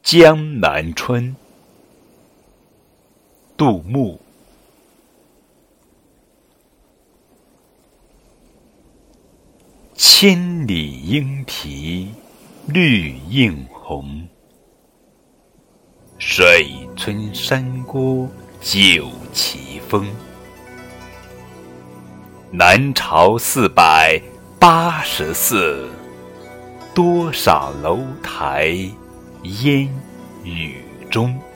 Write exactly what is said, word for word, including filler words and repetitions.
江南春，杜牧。千里莺啼绿映红，水村山郭酒旗风。南朝四百八十寺，多少楼台烟雨中。